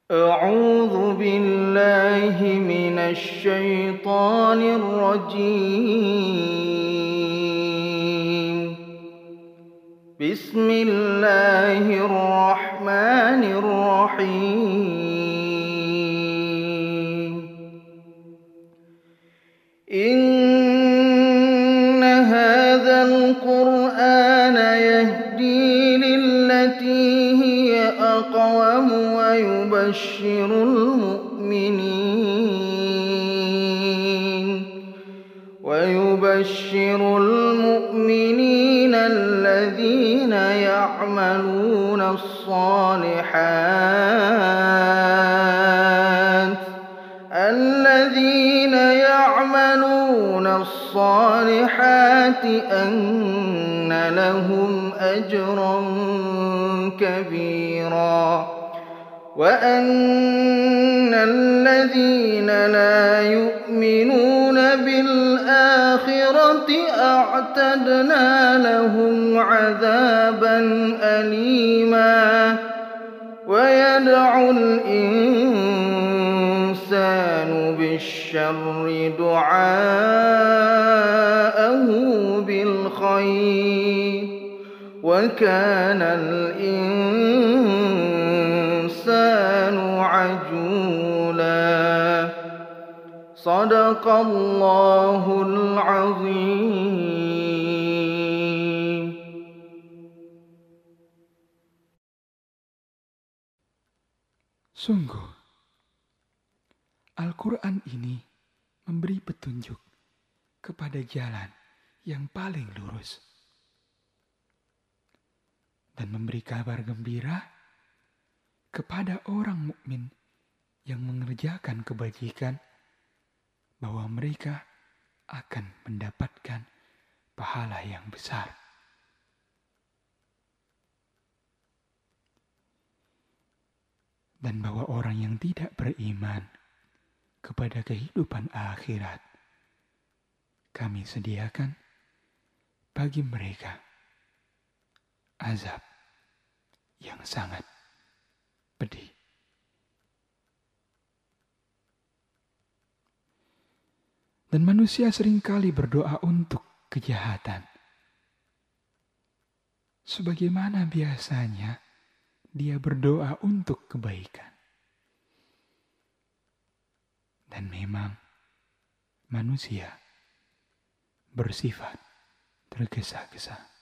أعوذ بالله من الشيطان الرجيم. بسم الله الرحمن الرحيم. إن هذا القرآن يهدي للتي هي أقوم ويبشر المؤمنين الذين يعملون الصالحات أن لهم أجرا كبيرا وأن الذين لا يؤمنون بالآخرة أعتدنا لهم عذابا أليما ويدعو الإنسان بالشر دعاءه بالخير وكان الإنسان عجولا. صدق الله العظيم. Sungguh, Al-Quran ini memberi petunjuk kepada jalan yang paling lurus dan memberi kabar gembira kepada orang mukmin yang mengerjakan kebajikan bahwa mereka akan mendapatkan pahala yang besar. Dan bahwa orang yang tidak beriman kepada kehidupan akhirat, kami sediakan bagi mereka azab yang sangat pedih. Dan manusia seringkali berdoa untuk kejahatan, sebagaimana biasanya dia berdoa untuk kebaikan. Dan memang manusia bersifat tergesa-gesa.